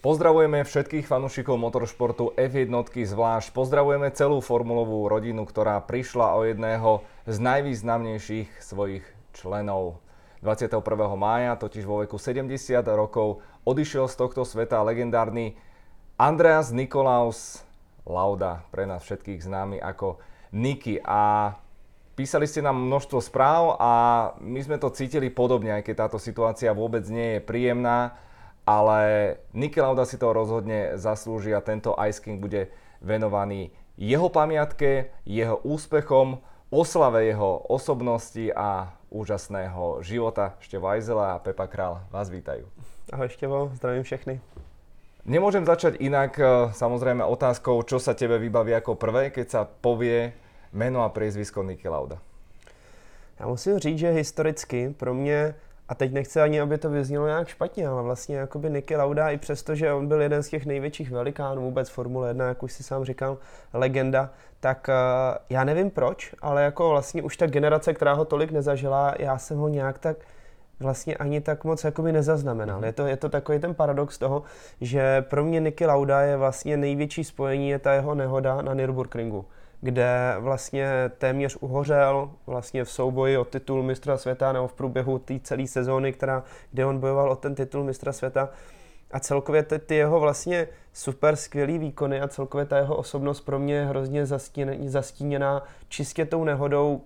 Pozdravujeme všetkých fanúšikov motoršportu F1, zvlášť pozdravujeme celú formulovú rodinu, ktorá prišla o jedného z najvýznamnejších svojich členov. 21. mája, totiž vo veku 70 rokov, odišiel z tohto sveta legendárny Andreas Nikolaus Lauda, pre nás všetkých známy ako Niki. A písali ste nám množstvo správ a my sme to cítili podobne, aj keď táto situácia vôbec nie je príjemná. Ale Niki Lauda si to rozhodne zaslúži a tento Ice King bude venovaný jeho pamiatke, jeho úspechom, oslave jeho osobnosti a úžasného života. Števo Ajzela a Pepa Král vás vítajú. Ahoj Števo, zdravím všechny. Nemôžem začať inak, samozrejme otázkou, čo sa tebe vybaví ako prvé, keď sa povie meno a priezvisko Niki Lauda. Já musím říct, že historicky pro mě, a teď nechci ani, aby to vyznělo nějak špatně, ale vlastně jakoby Niki Lauda, i přesto, že on byl jeden z těch největších velikánů vůbec Formule 1, jak už si sám říkal, legenda, tak já nevím proč, ale jako vlastně už ta generace, která ho tolik nezažila, já jsem ho nějak tak vlastně ani tak moc jakoby nezaznamenal. Je to takový ten paradox toho, že pro mě Niki Lauda je vlastně největší spojení, je ta jeho nehoda na Nürburgringu, kde vlastně téměř uhořel vlastně v souboji o titul mistra světa nebo v průběhu té celé sezóny, kde on bojoval o ten titul mistra světa. A celkově ty jeho vlastně super skvělý výkony a celkově ta jeho osobnost pro mě je hrozně zastíněná čistě tou nehodou,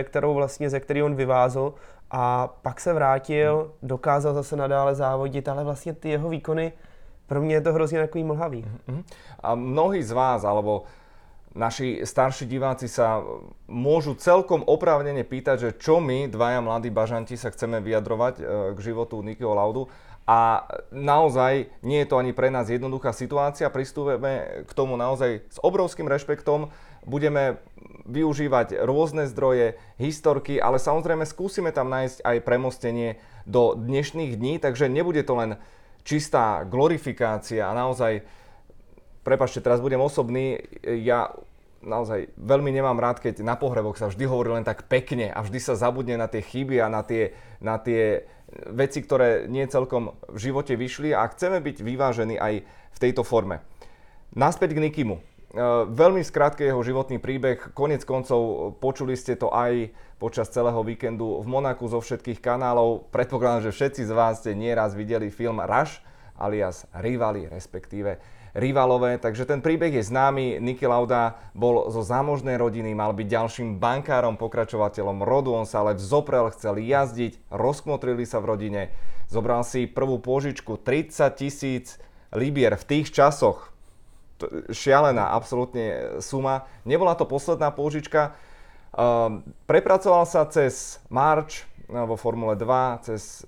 ze který on vyvázl a pak se vrátil, dokázal zase nadále závodit, ale vlastně ty jeho výkony, pro mě je to hrozně takový mlhavý. A mnohí z vás, alebo naši starší diváci sa môžu celkom oprávnene pýtať, že čo my, dvaja mladí bažanti, sa chceme vyjadrovať k životu Nikiho Laudu. A naozaj nie je to ani pre nás jednoduchá situácia. Pristúpime k tomu naozaj s obrovským rešpektom. Budeme využívať rôzne zdroje, historky, ale samozrejme skúsime tam nájsť aj premostenie do dnešných dní, takže nebude to len čistá glorifikácia a naozaj, prepáčte, teraz budem osobný, ja naozaj veľmi nemám rád, keď na pohreboch sa vždy hovorí len tak pekne a vždy sa zabudne na tie chyby a na tie veci, ktoré nie celkom v živote vyšli a chceme byť vyvážení aj v tejto forme. Naspäť k Nikimu. Veľmi skrátke jeho životný príbeh, konec koncov počuli ste to aj počas celého víkendu v Monaku zo všetkých kanálov. Predpokladám, že všetci z vás ste nieraz videli film Rush alias Rivali, respektíve Rivalové, takže ten príbeh je známy. Niki Lauda bol zo zámožnej rodiny, mal byť ďalším bankárom, pokračovateľom rodu, on sa ale vzoprel, chcel jazdiť, rozkmotrili sa v rodine, zobral si prvú pôžičku 30 000 libier v tých časoch. Šialená absolútne suma. Nebola to posledná pôžička. Prepracoval sa cez March vo Formule 2, cez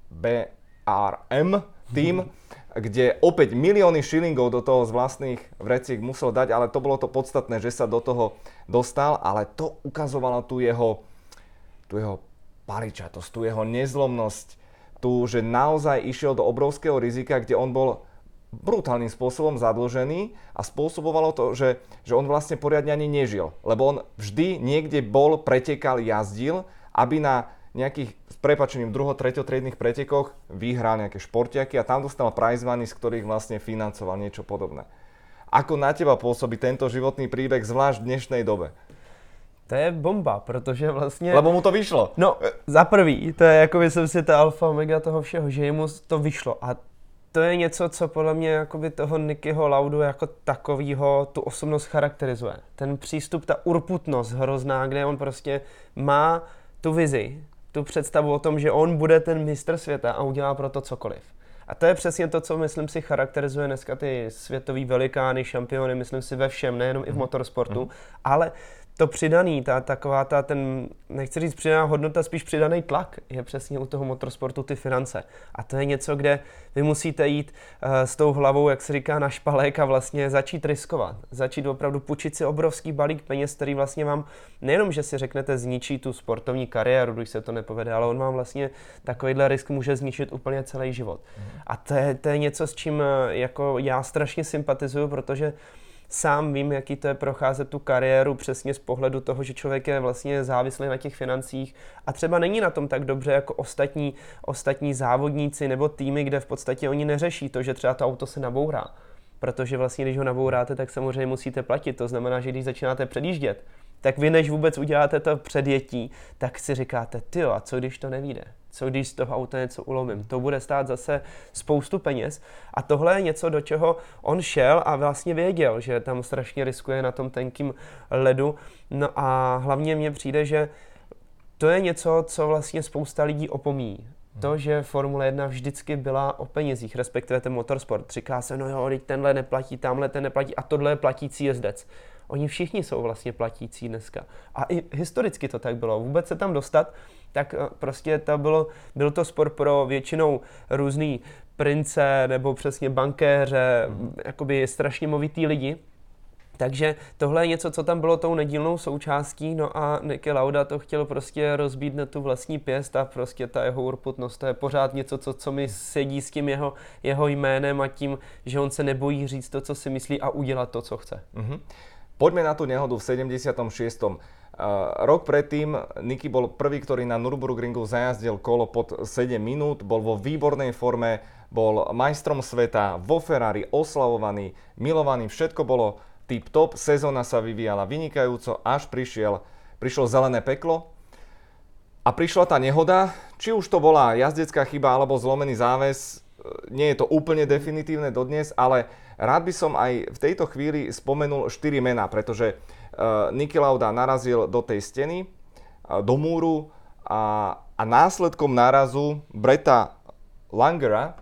BRM tým, kde opäť milióny šilingov do toho z vlastných vreciek musel dať, ale to bolo to podstatné, že sa do toho dostal, ale to ukazovalo tú jeho paličatosť, tú jeho nezlomnosť, že naozaj išiel do obrovského rizika, kde on bol brutálnym spôsobom zadlžený a spôsobovalo to, že on vlastne poriadne ani nežil, lebo on vždy niekde bol, pretekal, jazdil, aby na nejakých, s prepáčením, treťotriednych pretekoch vyhral nejaké športiaky a tam dostal prize money, z ktorých vlastne financoval niečo podobné. Ako na teba pôsobí tento životný príbeh, zvlášť v dnešnej dobe? To je bomba, protože vlastně... Lebo mu to vyšlo. No, za prvý, to je jako myslím si ta alfa omega toho všeho, že mu to vyšlo a to je něco, co podle mě jakoby toho Nikiho Laudu jako takovýho tu osobnost charakterizuje. Ten přístup, ta urputnost hrozná, kde on prostě má tu vizi, tu představu o tom, že on bude ten mistr světa a udělá pro to cokoliv. A to je přesně to, co myslím si charakterizuje dneska ty světový velikány, šampiony, myslím si ve všem, nejenom i v motorsportu, ale to přidaný, nechci říct přidaná hodnota, spíš přidaný tlak je přesně u toho motorsportu ty finance. A to je něco, kde vy musíte jít s tou hlavou, jak se říká, na špalek a vlastně začít riskovat. Začít opravdu půjčit si obrovský balík peněz, který vlastně vám nejenom, že si řeknete, zničí tu sportovní kariéru, když se to nepovede, ale on vám vlastně takovýhle risk může zničit úplně celý život. A to je něco, s čím jako já strašně sympatizuju, protože sám vím, jaký to je procházet tu kariéru přesně z pohledu toho, že člověk je vlastně závislý na těch financích a třeba není na tom tak dobře jako ostatní závodníci nebo týmy, kde v podstatě oni neřeší to, že třeba to auto se nabourá. Protože vlastně, když ho nabouráte, tak samozřejmě musíte platit. To znamená, že když začínáte předjíždět, tak vy než vůbec uděláte to předjetí, tak si říkáte, tyjo, a co když to nevyjde? Co když z toho auta něco ulomím? To bude stát zase spoustu peněz. A tohle je něco, do čeho on šel a vlastně věděl, že tam strašně riskuje na tom tenkým ledu. No a hlavně mně přijde, že to je něco, co vlastně spousta lidí opomíjí. To, že Formule 1 vždycky byla o penězích, respektive ten motorsport. Říká se, no jo, teď tenhle neplatí, tamhle ten neplatí a tohle je platící jezdec. Oni všichni jsou vlastně platící dneska. A i historicky to tak bylo. Vůbec se tam dostat, tak prostě byl to sport pro většinou různý prince nebo přesně bankéře, jakoby strašně movitý lidi. Takže tohle je něco, co tam bylo tou nedílnou součástí, no a Niki Lauda to chtěl prostě rozbít na tu vlastní pěst a prostě ta jeho urputnost, to je pořád něco, co mi sedí s tím jeho jménem a tím, že on se nebojí říct to, co si myslí a udělat to, co chce. Poďme na tú nehodu v 76. Rok predtým Niki bol prvý, ktorý na Nürburgringu zajazdil kolo pod 7 minút, bol vo výbornej forme, bol majstrom sveta, vo Ferrari, oslavovaný, milovaný, všetko bolo tip-top, sezóna sa vyvíjala vynikajúco, až prišlo zelené peklo a prišla tá nehoda, či už to bola jazdecká chyba alebo zlomený záväz, nie je to úplne definitívne dodnes, ale rád by som aj v tejto chvíli spomenul 4 mená, pretože Niki Lauda narazil do tej steny, do múru a následkom nárazu Bretta Langera,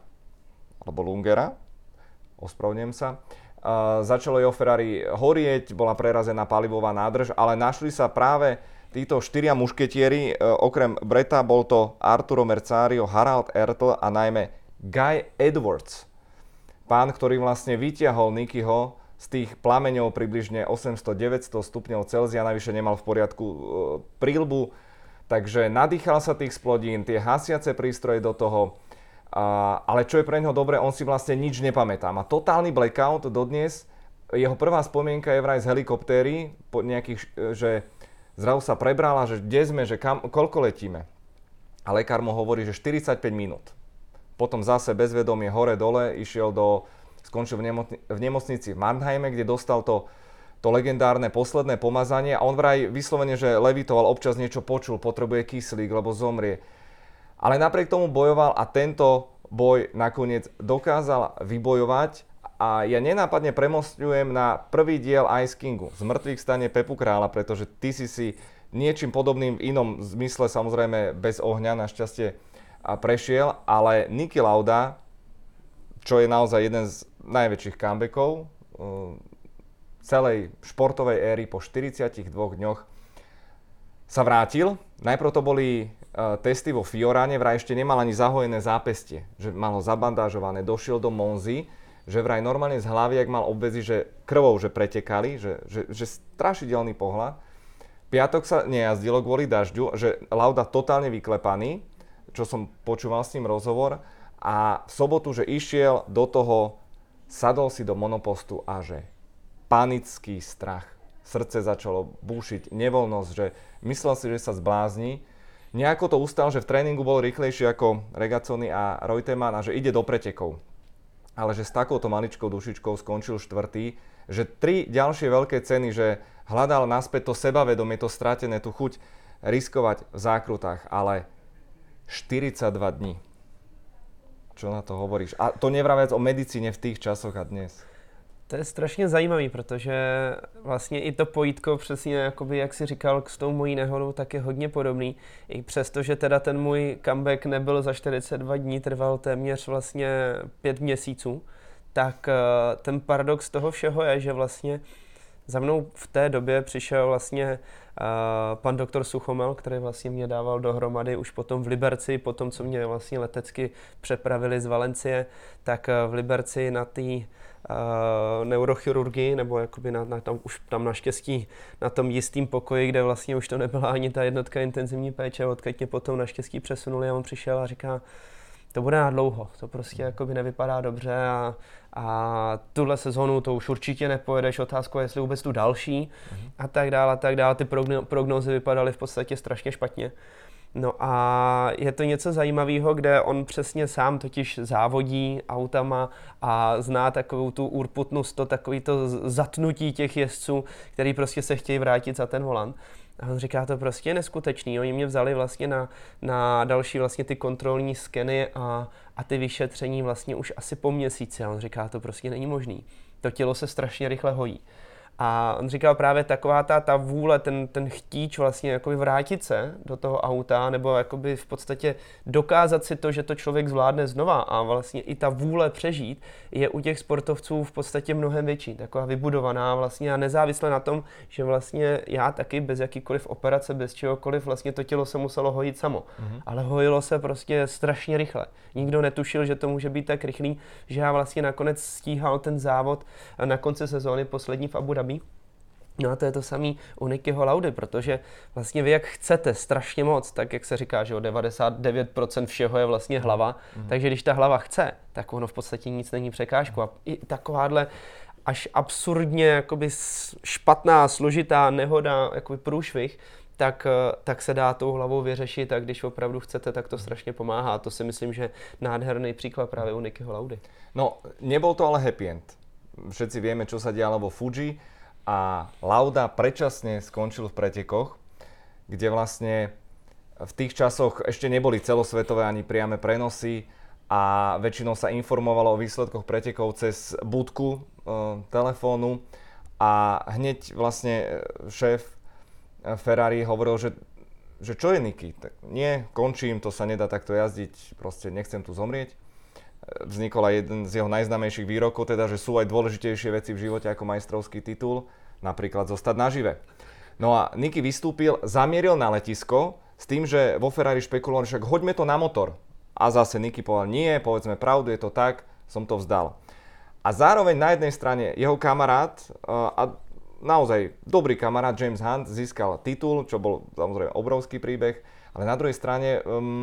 ospravedlňujem sa, začalo jeho Ferrari horieť, bola prerazená palivová nádrž, ale našli sa práve títo 4 mušketieri, okrem Bretta bol to Arturo Merzario, Harald Ertl a najmä Guy Edwards. Pán, ktorý vlastne vytiahol Nikiho z tých plameňov približne 800-900 stupňov Celzia, navyše nemal v poriadku príľbu, takže nadýchal sa tých splodín, tie hasiace prístroje do toho, ale čo je pre neho dobré, on si vlastne nič nepamätá. Má totálny blackout dodnes, jeho prvá spomienka je vraj z helikoptéry, že zrazu sa prebrala, že kde sme, že koľko letíme. A lekár mu hovorí, že 45 minút. Potom zase bezvedomie hore-dole, skončil v nemocnici v Mannheime, kde dostal to legendárne posledné pomazanie a on vraj vyslovene, že levitoval, občas niečo počul, potrebuje kyslík, lebo zomrie. Ale napriek tomu bojoval a tento boj nakoniec dokázal vybojovať a ja nenápadne premostňujem na prvý diel Ice Kingu, z mŕtvych stane Pepu Kráľa, pretože ty si niečím podobným v inom zmysle, samozrejme bez ohňa našťastie prešiel, ale Niki Lauda, čo je naozaj jeden z najväčších comebackov celej športovej éry po 42 dňoch sa vrátil. Najprv to boli testy vo Fioráne, vraj ešte nemal ani zahojené zápestie, že mal ho zabandážované, došiel do Monzy, že vraj normálne z hlavy, ak mal obväzy, že krvou že pretekali, že strašidelný pohľad. Piatok sa nejazdilo kvôli dažďu, že Lauda totálne vyklepaný, čo som počúval s ním rozhovor, a v sobotu, že išiel do toho, sadol si do monopostu a že panický strach. Srdce začalo búšiť, nevoľnosť, že myslel si, že sa zblázni. Nejako to ustal, že v tréningu bol rýchlejší ako Regazzoni a Reutemann a že ide do pretekov. Ale že s takouto maličkou dušičkou skončil štvrtý, že 3 ďalšie veľké ceny, že hľadal naspäť to sebavedomie, to stratené, tú chuť riskovať v zákrutách, ale 42 dní. Čo na to hovoríš? A to nevraviac o medicíne v tých časoch a dnes. To je strašně zajímavý, protože vlastně i to pojítko přesně, jakoby, jak jsi říkal, s tou mojí nehodou, tak je hodně podobný. I přesto, že teda ten můj comeback nebyl za 42 dní, trval téměř vlastně 5 měsíců, tak ten paradox toho všeho je, že vlastně za mnou v té době přišel vlastně pan doktor Suchomel, který vlastně mě dával dohromady už potom v Liberci, potom co mě vlastně letecky přepravili z Valencie, tak v Liberci na té neurochirurgii, nebo jakoby už tam naštěstí na tom jistým pokoji, kde vlastně už to nebyla ani ta jednotka intenzivní péče, odkud mě potom naštěstí přesunuli a on přišel a říká, to bude na dlouho, to prostě jakoby nevypadá dobře a tuhle sezonu to už určitě nepojedeš, otázka je, jestli vůbec tu další a tak dále, ty prognózy vypadaly v podstatě strašně špatně. No a je to něco zajímavého, kde on přesně sám totiž závodí autama a zná takovou tu urputnost, takový to zatnutí těch jezdců, který prostě se chtějí vrátit za ten volant. A on říká, to prostě je neskutečný. Oni mě vzali vlastně na další vlastně ty kontrolní skeny a ty vyšetření vlastně už asi po měsíci. A on říká, to prostě není možný. To tělo se strašně rychle hojí. A on říkal právě taková ta vůle, ten chtíč vlastně jakoby vrátit se do toho auta nebo jakoby v podstatě dokázat si to, že to člověk zvládne znova a vlastně i ta vůle přežít je u těch sportovců v podstatě mnohem větší, taková vybudovaná vlastně a nezávisle na tom, že vlastně já taky bez jakýkoliv operace, bez čehokoliv vlastně to tělo se muselo hojit samo. Ale hojilo se prostě strašně rychle. Nikdo netušil, že to může být tak rychlý, že já vlastně nakonec stíhal ten závod na konci sezóny poslední v Abu Dhabi. No a to je to samý u Nickyho Laudy, protože vlastně vy jak chcete strašně moc, tak jak se říká, že 99% všeho je vlastně hlava, takže když ta hlava chce, tak ono v podstatě nic není překážku a i takováhle až absurdně jakoby špatná, složitá nehoda, jakoby průšvih, tak se dá tou hlavou vyřešit a když opravdu chcete, tak to strašně pomáhá. A to si myslím, že nádherný příklad právě u Nickyho Laudy. No, nebol to ale happy end. Všetci vieme, čo sa dialo vo Fuji a Lauda predčasne skončil v pretekoch, kde vlastne v tých časoch ešte neboli celosvetové ani priame prenosy a väčšinou sa informovalo o výsledkoch pretekov cez budku telefónu a hneď vlastne šéf Ferrari hovoril, že čo je Nicky? Tak nie, končím, to sa nedá takto jazdiť, proste nechcem tu zomrieť. Vznikol aj jeden z jeho najznámejších výrokov, teda, že sú aj dôležitejšie veci v živote ako majstrovský titul, napríklad zostať nažive. No a Nicky vystúpil, zamieril na letisko s tým, že vo Ferrari špekulovali, však hoďme to na motor. A zase Nicky povedal, nie, povedzme pravdu, je to tak, som to vzdal. A zároveň na jednej strane jeho kamarát, a naozaj dobrý kamarát James Hunt získal titul, čo bol samozrejme obrovský príbeh, ale na druhej strane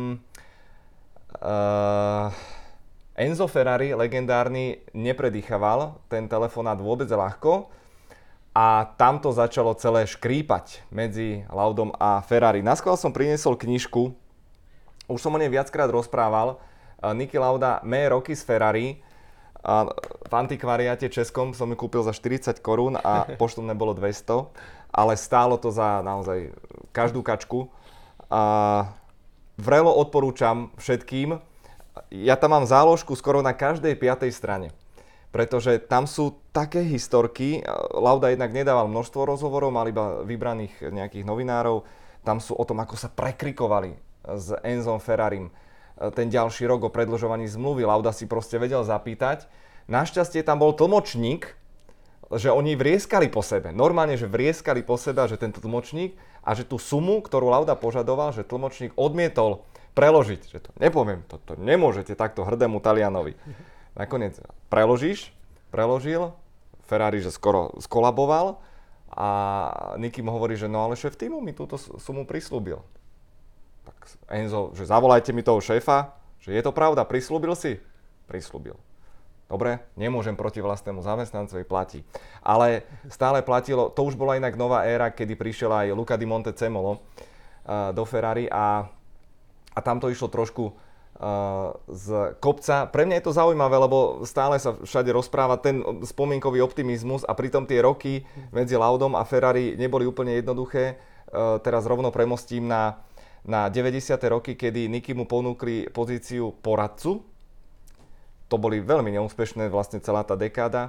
Enzo Ferrari, legendárny, nepredýchaval ten telefonát vôbec ľahko a tam to začalo celé škrípať medzi Laudom a Ferrari. Naskôr som priniesol knižku, už som o nej viackrát rozprával, Niki Lauda Mé roky z Ferrari. A v antikvariáte českom som ju kúpil za 40 korún a poštom nebolo 200, ale stálo to za naozaj každú kačku. Vrelo odporúčam všetkým. Ja tam mám záložku skoro na každej 5. strane, pretože tam sú také historky. Lauda jednak nedával množstvo rozhovorov, mal iba vybraných nejakých novinárov. Tam sú o tom, ako sa prekrikovali s Enzom Ferrarim ten ďalší rok o predĺžovaní zmluvy. Lauda si proste vedel zapýtať. Našťastie tam bol tlmočník, že oni vrieskali po sebe. Normálne, že vrieskali po sebe, že tento tlmočník a že tú sumu, ktorú Lauda požadoval, že tlmočník odmietol preložiť. Že to nepoviem, to nemôžete takto hrdému Talianovi. Nakoniec preložil, Ferrari, že skoro skolaboval a Nicky mu hovorí, že no ale šéf týmu mi túto sumu prislúbil. Tak Enzo, že zavolajte mi toho šéfa, že je to pravda, prislúbil si? Prislúbil. Dobre, nemôžem proti vlastnému zamestnancovi, platí. Ale stále platilo, to už bola inak nová éra, kedy prišiel aj Luca di Montezemolo do Ferrari a tam to išlo trošku z kopca. Pre mňa je to zaujímavé, lebo stále sa všade rozpráva ten spomienkový optimizmus a pritom tie roky medzi Laudom a Ferrari neboli úplne jednoduché. Teraz rovno premostím na 90. roky, kedy Nicky mu ponúkli pozíciu poradcu. To boli veľmi neúspešné vlastne celá tá dekáda.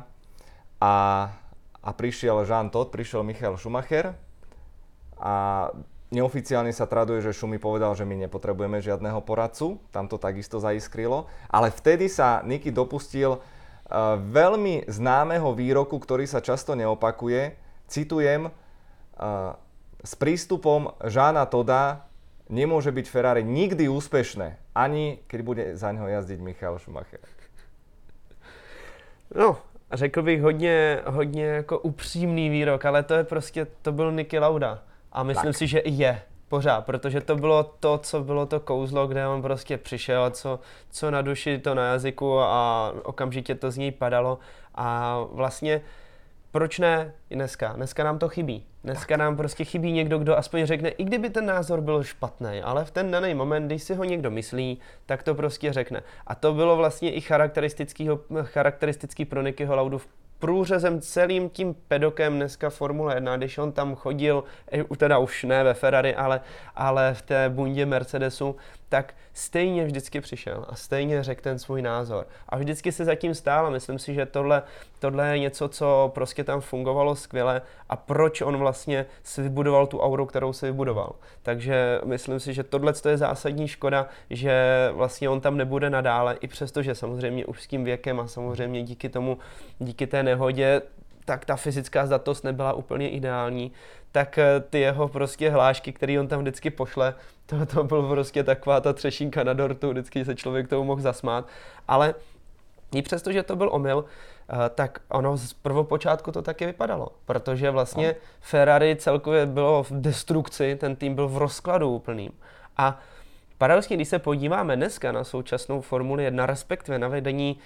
A prišiel Jean Todt, prišiel Michael Schumacher a neoficiálne sa traduje, že Schumi povedal, že my nepotrebujeme žiadneho poradcu. Tam to takisto zaiskrilo. Ale vtedy sa Nicky dopustil veľmi známeho výroku, ktorý sa často neopakuje. Citujem, s prístupom Jeana Todda nemôže byť Ferrari nikdy úspešné, ani keď bude za ňoho jazdiť Michael Schumacher. No, řekl bych hodně jako upřímný výrok, ale to je prostě, to byl Niki Lauda. A myslím si, že i je Pořád, protože to bylo to, co bylo to kouzlo, kde on prostě přišel a co na duši, to na jazyku a okamžitě to z něj padalo. A vlastně proč ne dneska? Dneska nám to chybí. Dneska nám prostě chybí někdo, kdo aspoň řekne, i kdyby ten názor byl špatný, ale v ten daný moment, když si ho někdo myslí, tak to prostě řekne. A to bylo vlastně i charakteristický pro Nickyho Laudu průřezem celým tím pedokem dneska Formule 1, když on tam chodil, teda už ne ve Ferrari, ale v té bundě Mercedesu, tak stejně vždycky přišel a stejně řekl ten svůj názor. A vždycky se zatím stál a myslím si, že tohle je něco, co prostě tam fungovalo skvěle a proč on vlastně si vybudoval tu auru, kterou si vybudoval. Takže myslím si, že tohle je zásadní škoda, že vlastně on tam nebude nadále, i přesto, že samozřejmě už s tím věkem a samozřejmě díky té nehodě, tak ta fyzická zdatnost nebyla úplně ideální, tak ty jeho prostě hlášky, který on tam vždycky pošle, to byl prostě taková ta třešínka na dortu, vždycky se člověk tomu mohl zasmát, ale i přesto, že to byl omyl, tak ono z prvopočátku to taky vypadalo, protože vlastně Ferrari celkově bylo v destrukci, ten tým byl v rozkladu úplným. A paradoxně, když se podíváme dneska na současnou Formuli 1, respektive na vedení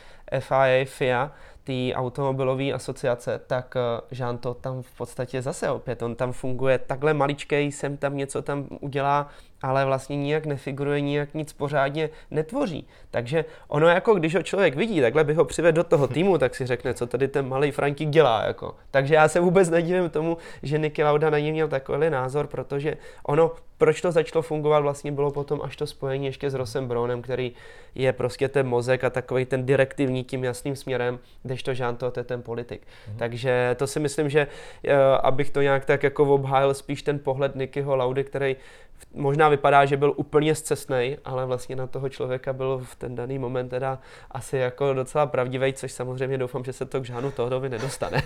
FIA, té automobilové asociace, tak Jean to tam v podstatě zase opět, on tam funguje takhle maličkej, sem tam něco tam udělá, ale vlastně nijak nefiguruje, nijak nic pořádně netvoří. Takže ono jako, když ho člověk vidí, takhle by ho přivedl do toho týmu, tak si řekne, co tady ten malý Frantík dělá. Jako. Takže já se vůbec nedivím tomu, že Niki Lauda na něj měl takový názor, protože ono, proč to začalo fungovat, vlastně bylo potom až to spojení ještě s Rossem Brownem, který je prostě ten mozek a takový ten direktivní tím jasným směrem, kdežto Jean to je ten politik. Takže to si myslím, že abych to nějak tak jako obhájil spíš ten pohled Nickyho Laudy, který možná vypadá, že byl úplně scestnej, ale vlastně na toho člověka byl v ten daný moment teda asi jako docela pravdivý, což samozřejmě doufám, že se to k Jeanu Todovi nedostane.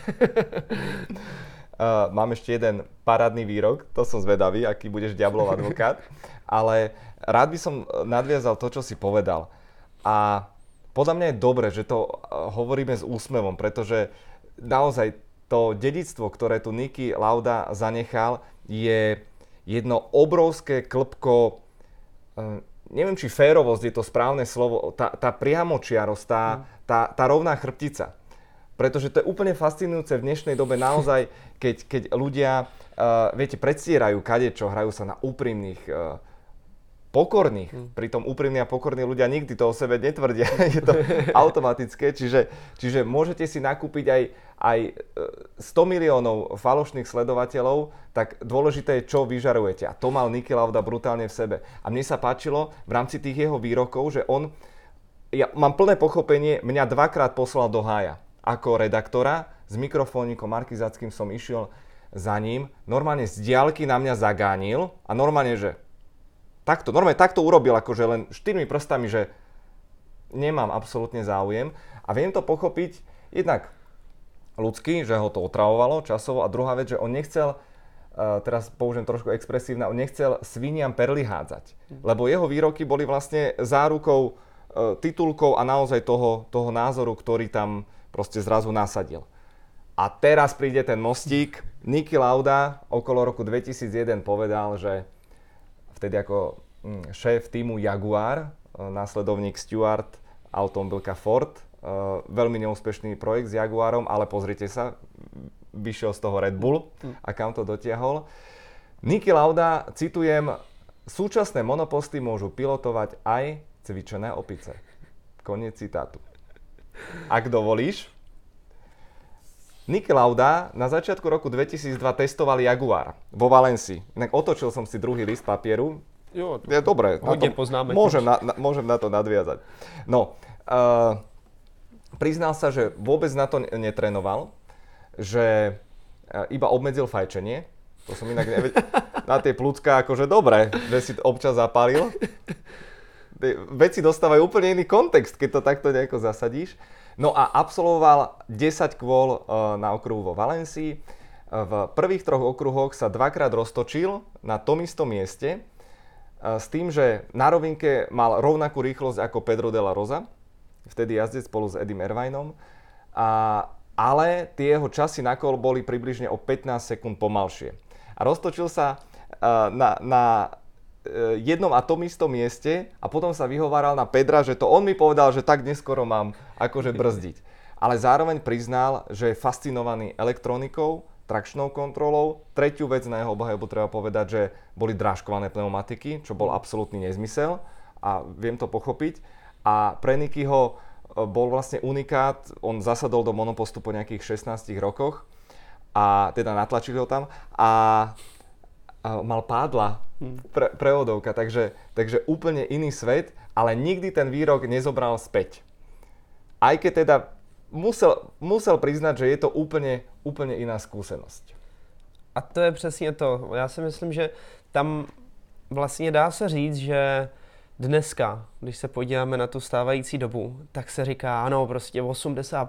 Mám ešte jeden parádny výrok, to som zvedavý, aký budeš diablov advokát, ale rád by som nadviazal to, čo si povedal. A podľa mňa je dobre, že to hovoríme s úsmevom, pretože naozaj to dedičstvo, ktoré tu Niki Lauda zanechal, je jedno obrovské klpko, neviem, či férovosť je to správne slovo, tá priamočiarosť, tá rovná chrbtica. Pretože to je úplne fascinujúce v dnešnej dobe naozaj, keď ľudia, viete, predstierajú kadečo, hrajú sa na úprimných, pokorných. Pritom úprimní a pokorní ľudia nikdy to o sebe netvrdia, je to automatické, čiže môžete si nakúpiť aj 100 miliónov falošných sledovateľov, tak dôležité je, čo vyžarujete. A to mal Niki Lauda brutálne v sebe. A mne sa páčilo v rámci tých jeho výrokov, že ja mám plné pochopenie, mňa dvakrát poslal do hája. Ako redaktora, s mikrofónikom markizackým som išiel za ním, normálne z diaľky na mňa zagánil a normálne takto urobil, akože len 4 prstami, že nemám absolútne záujem a viem to pochopiť jednak ľudsky, že ho to otravovalo časovo a druhá vec, že on nechcel, teraz použijem trošku expresívne, on nechcel sviniam perly hádzať, lebo jeho výroky boli vlastne zárukou, titulkou a naozaj toho názoru, ktorý tam proste zrazu nasadil. A teraz príde ten mostík. Niki Lauda okolo roku 2001 povedal, že vtedy ako šéf týmu Jaguar, následovník Stewart, automobilka Ford, veľmi neúspešný projekt s Jaguarom, ale pozrite sa, vyšiel z toho Red Bull a kam to dotiahol. Niki Lauda, citujem, súčasné monoposty môžu pilotovať aj cvičené opice. Koniec citátu. Ak dovolíš, Niki Lauda na začiatku roku 2002 testoval Jaguar vo Valencii. Inak otočil som si druhý list papieru. Jo, je dobré. Hodne poznáme. Môžem na to nadviazať. No, priznal sa, že vôbec na to netrénoval, že iba obmedzil fajčenie. To som inak nevedel. Na tie plúcka akože dobre, že si občas zapálil. Veci dostávajú úplne iný kontext, keď to takto nejako zasadíš. No a absolvoval 10 kôl na okruhu vo Valencii. V prvých 3 okruhoch sa dvakrát roztočil na tom istom mieste s tým, že na rovinke mal rovnakú rýchlosť ako Pedro de la Rosa, vtedy jazdec spolu s Eddym Irvinom, ale tie jeho časy na kol boli približne o 15 sekúnd pomalšie. A roztočil sa na jednom a tom istom mieste a potom sa vyhováral na Pedra, že to on mi povedal, že tak neskoro mám akože brzdiť. Ale zároveň priznal, že je fascinovaný elektronikou, trakčnou kontrolou. Tretiu vec na jeho obhajobu treba povedať, že boli drážkované pneumatiky, čo bol absolútny nezmysel a viem to pochopiť. A pre Nikyho bol vlastne unikát, on zasadol do monopostu po nejakých 16 rokoch a teda natlačili ho tam a mal pádla prevodovka, takže úplne iný svet, ale nikdy ten výrok nezobral späť. Aj keď teda musel priznať, že je to úplne iná skúsenosť. A to je přesně to. Já si myslím, že tam vlastně dá se říct, že dneska, když se podíváme na tu stávající dobu, tak se říká, ano, prostě 80%,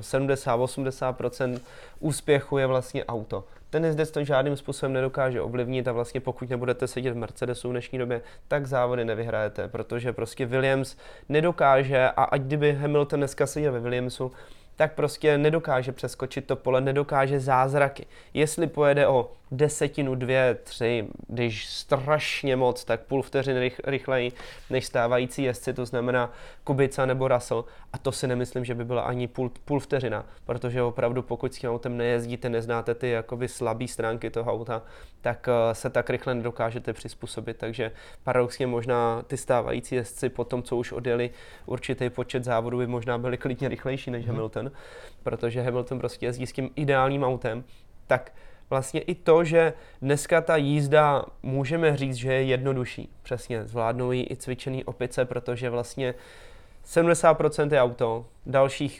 70-80% úspěchu je vlastně auto. Ten jezdec to žádným způsobem nedokáže ovlivnit a vlastně pokud nebudete sedět v Mercedesu v dnešní době, tak závody nevyhrajete, protože prostě Williams nedokáže a ať kdyby Hamilton dneska seděl ve Williamsu, tak prostě nedokáže přeskočit to pole, nedokáže zázraky. Jestli pojede o 10, 2, 3, když strašně moc, tak půl vteřiny rychleji než stávající jezdci, to znamená Kubica nebo Russell. A to si nemyslím, že by byla ani půl vteřina, protože opravdu pokud s tím autem nejezdíte, neznáte ty jakoby slabé stránky toho auta, tak se tak rychle nedokážete přizpůsobit. Takže paradoxně možná ty stávající jezdci po tom, co už odjeli určitý počet závodů, by možná byli klidně rychlejší než Hamilton, protože Hamilton prostě jezdí s tím ideálním autem, tak vlastně i to, že dneska ta jízda můžeme říct, že je jednodušší. Přesně, zvládnou ji i cvičený opice, protože vlastně 70% je auto, dalších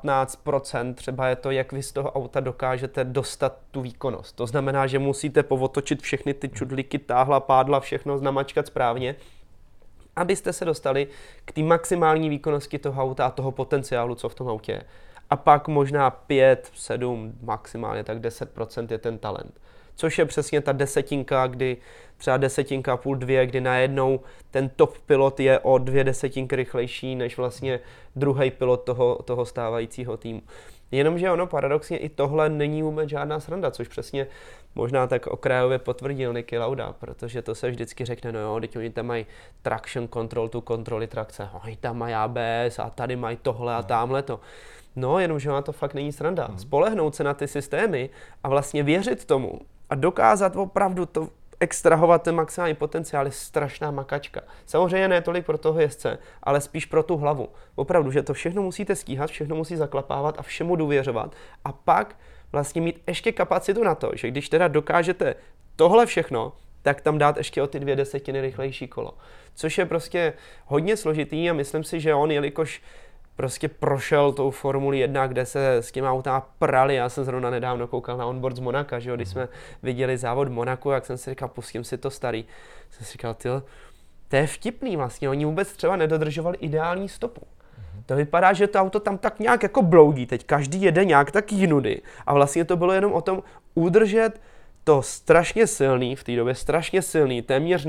15% třeba je to, jak vy z toho auta dokážete dostat tu výkonnost. To znamená, že musíte povotočit všechny ty čudlíky, táhla, pádla, všechno namačkat správně, abyste se dostali k té maximální výkonnosti toho auta a toho potenciálu, co v tom autě je. A pak možná 5, 7, maximálně tak 10% je ten talent. Což je přesně ta desetinka, kdy třeba 1,5, 2, kdy najednou ten top pilot je o 2 desetinky rychlejší než vlastně druhý pilot toho stávajícího týmu. Jenomže ono paradoxně i tohle není vůbec žádná sranda, což přesně možná tak okrajově potvrdil Niki Lauda, protože to se vždycky řekne, no jo, teď oni tam mají traction control, tu kontroly trakce, oni tam mají ABS a tady mají tohle a tamhle to. No, jenomže ona to fakt není sranda. Spolehnout se na ty systémy a vlastně věřit tomu a dokázat opravdu to extrahovat ten maximální potenciál je strašná makačka. Samozřejmě ne tolik pro toho jezdce, ale spíš pro tu hlavu. Opravdu, že to všechno musíte stíhat, všechno musí zaklapávat a všemu důvěřovat a pak vlastně mít ještě kapacitu na to, že když teda dokážete tohle všechno, tak tam dát ještě o ty 2 desetiny rychlejší kolo. Což je prostě hodně složitý a myslím si, že on, jelikož prostě prošel tou Formuli 1, kde se s těma autama prali. Já jsem zrovna nedávno koukal na onboard z Monaka, že jo, když jsme viděli závod Monaku, jak jsem si říkal, pustím si to starý. Jsem si říkal, to je vtipný vlastně, oni vůbec třeba nedodržovali ideální stopu. To vypadá, že to auto tam tak nějak jako bloudí, teď každý jede nějak tak jinudy a vlastně to bylo jenom o tom udržet to strašně silný, v té době strašně silný, téměř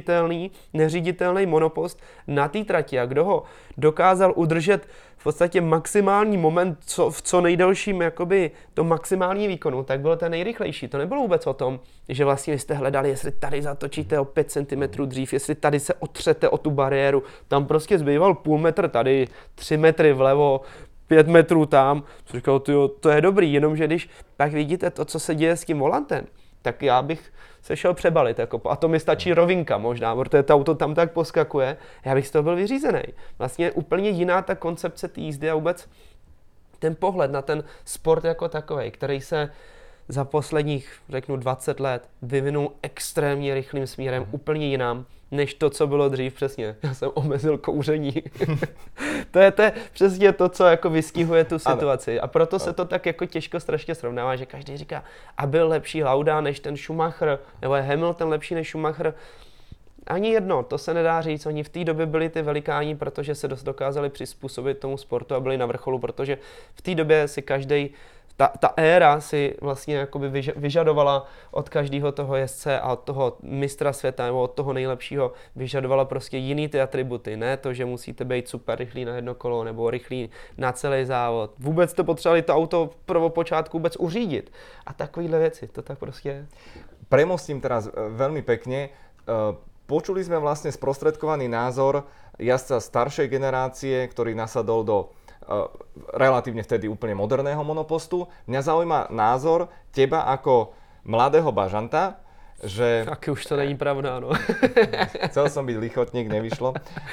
neříditelný monopost na té trati a kdo ho dokázal udržet v podstatě maximální moment v co nejdelším jakoby to maximální výkonu, tak byl ten nejrychlejší. To nebylo vůbec o tom, že vlastně vy jste hledali, jestli tady zatočíte o 5 cm dřív, jestli tady se otřete o tu bariéru, tam prostě zbýval půl metr tady, 3 metry vlevo, 5 metrů tam, co říkal, to je dobrý, jenomže když pak vidíte to, co se děje s tím volantem, tak já bych se šel přebalit, jako, a to mi stačí rovinka možná, protože to auto tam tak poskakuje, já bych z toho byl vyřízený. Vlastně úplně jiná ta koncepce té jízdy a vůbec ten pohled na ten sport jako takovej, který se za posledních, řeknu, 20 let vyvinul extrémně rychlým směrem, úplně jinam, než to, co bylo dřív, přesně. Já jsem omezil kouření. to je přesně to, co jako vystihuje tu situaci. A proto se to tak jako těžko strašně srovnává, že každý říká, a byl lepší Lauda než ten Schumacher, nebo je Hamilton lepší než Schumacher. Ani jedno, to se nedá říct. Oni v té době byli ty velikáni, protože se dost dokázali přizpůsobit tomu sportu a byli na vrcholu, protože v té době si každý ta éra si vlastně jakoby vyžadovala od každého toho jezdce a od toho mistra světa nebo od toho nejlepšího vyžadovala prostě jiný ty atributy. Ne to, že musíte být super rychlý na jedno kolo nebo rychlý na celý závod. Vůbec to potřebovali to auto prvopočátku vůbec uřídit. A takovýhle věci, to tak prostě je. premostím teraz veľmi pekne. Počuli sme vlastne sprostredkovaný názor jazdca staršej generácie, ktorý nasadol do relatívne vtedy úplne moderného monopostu. Mňa zaujíma názor teba ako mladého bažanta, že... Taky už to není pravda, no. Chcel som byť lichotník, nevyšlo.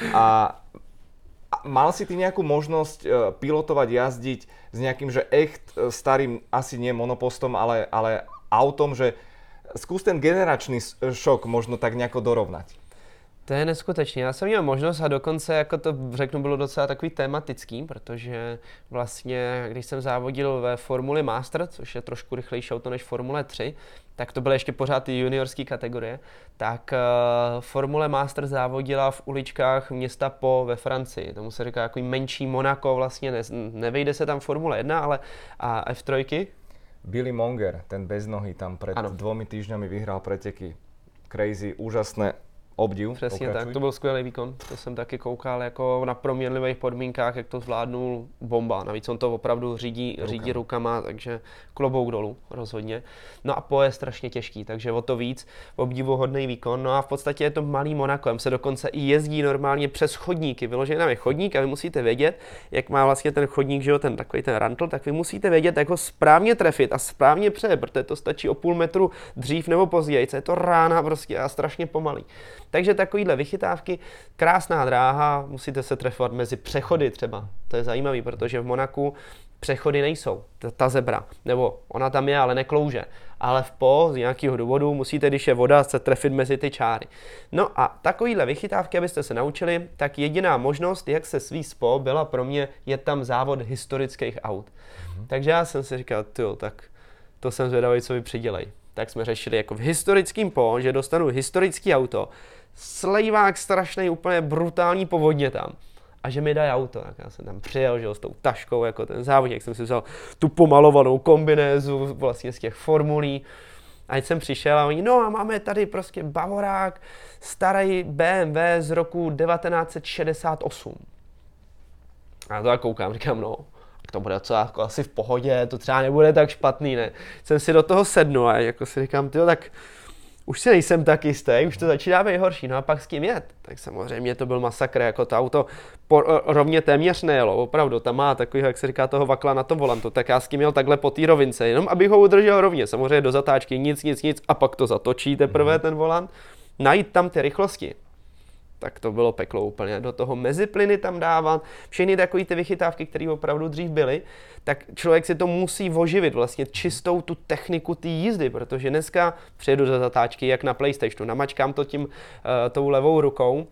A mal si ty nejakú možnosť pilotovať, jazdiť s nejakým, že echt starým, asi nie monopostom, ale autom, že skús ten generačný šok možno tak nejako dorovnať. To je neskutečné. Já jsem měl možnost a dokonce, jako to řeknu, bylo docela takový tematický, protože vlastně, když jsem závodil ve Formuli Master, což je trošku rychlejší auto než Formule 3, tak to byly ještě pořád ty juniorské kategorie, tak Formule Master závodila v uličkách města Po ve Francii. Tomu se říká jako menší Monako, vlastně nevejde se tam Formule 1, ale a F3. Billy Monger, ten bez nohy, tam pred 2 týždňami vyhral preteky. Crazy, úžasné. Obdiv. Přesně tak, to byl skvělý výkon. To jsem taky koukal jako na proměnlivých podmínkách, jak to zvládnul, bomba. Navíc on to opravdu řídí rukama, takže klobouk dolů rozhodně. No a Po je strašně těžký, takže o to víc obdivuhodný výkon. No a v podstatě je to malý Monako, tam se dokonce i jezdí normálně přes chodníky. Vyložený tam je chodník a vy musíte vědět, jak má vlastně ten chodník, že jo, ten takový ten rantl, tak vy musíte vědět, jak ho správně trefit a správně přejet, protože to stačí o půl metru dřív nebo později. Je to rána prostě a strašně pomalý. Takže takovýhle vychytávky, krásná dráha, musíte se trefovat mezi přechody třeba. To je zajímavý, protože v Monaku přechody nejsou, ta zebra, nebo ona tam je, ale neklouže. Ale v Po z nějakého důvodu musíte, když je voda, se trefit mezi ty čáry. No a takovýhle vychytávky, abyste se naučili, tak jediná možnost, jak se svízt z Po, byla pro mě, je tam závod historických aut. Takže já jsem si říkal, tak to jsem zvědavý, co vy přidělej. Tak jsme řešili jako v historickém Po, že dostanu historický auto, slejvák strašný, úplně brutální povodně tam. A že mi dají auto, tak já jsem tam přijel, že jo, s tou taškou, jako ten závodník, jsem si vzal tu pomalovanou kombinézu vlastně z těch formulí. A jsem přišel a oni, no a máme tady prostě Bavorák, starý BMW z roku 1968. A to já koukám, říkám, no, to bude co jako asi v pohodě, to třeba nebude tak špatný, ne. Jsem si do toho sednul a jako si říkám, tak už si nejsem tak jistý, už to začíná být horší, no a pak s kým jet? Tak samozřejmě to byl masakr, jako to auto rovně téměř nejelo, opravdu, tam má takový, jak se říká, toho vakla na tom volantu, tak já s kým jel takhle po té rovince, jenom abych ho udržel rovně, samozřejmě do zatáčky nic a pak to zatočí teprve ten volant, najít tam ty rychlosti. Tak to bylo peklo úplně. Do toho meziplyny tam dávat, všechny takové ty vychytávky, které opravdu dřív byly, tak člověk si to musí oživit vlastně čistou tu techniku té jízdy, protože dneska přijedu do zatáčky jak na PlayStationu, namačkám to tím tou levou rukou,